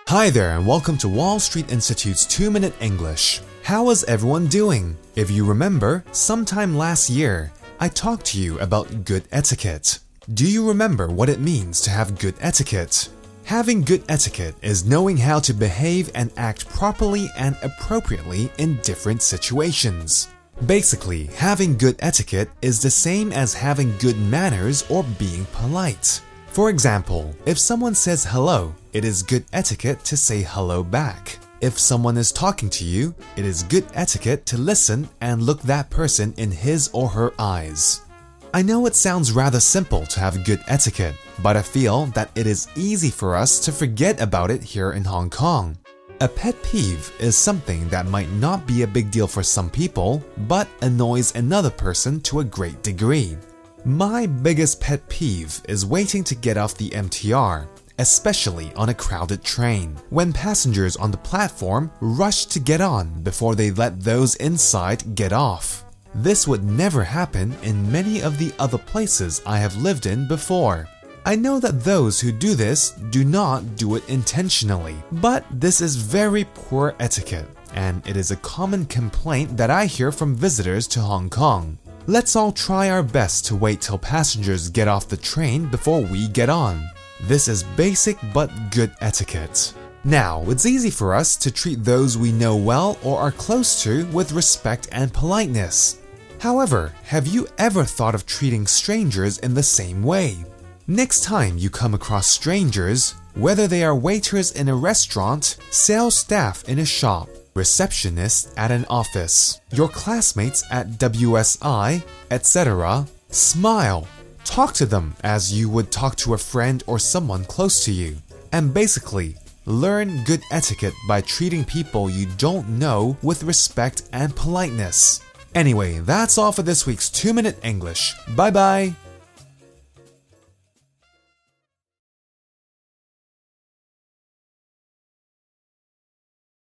Hi there and welcome to Wall Street Institute's 2-Minute English. How is everyone doing? If you remember, sometime last year, I talked to you about good etiquette. Do you remember what it means to have good etiquette? Having good etiquette is knowing how to behave and act properly and appropriately in different situations. Basically, having good etiquette is the same as having good manners or being polite. For example, if someone says hello, it is good etiquette to say hello back. If someone is talking to you, it is good etiquette to listen and look that person in his or her eyes. I know it sounds rather simple to have good etiquette, but I feel that it is easy for us to forget about it here in Hong Kong. A pet peeve is something that might not be a big deal for some people, but annoys another person to a great degree. My biggest pet peeve is waiting to get off the MTR, especially on a crowded train, when passengers on the platform rush to get on before they let those inside get off. This would never happen in many of the other places I have lived in before. I know that those who do this do not do it intentionally, but this is very poor etiquette, and it is a common complaint that I hear from visitors to Hong Kong. Let's all try our best to wait till passengers get off the train before we get on. This is basic but good etiquette. Now, it's easy for us to treat those we know well or are close to with respect and politeness. However, have you ever thought of treating strangers in the same way? Next time you come across strangers, whether they are waiters in a restaurant, sales staff in a shop, receptionists at an office, your classmates at WSI, etc., smile. Talk to them as you would talk to a friend or someone close to you. And basically, learn good etiquette by treating people you don't know with respect and politeness. Anyway, that's all for this week's 2-Minute English. Bye bye!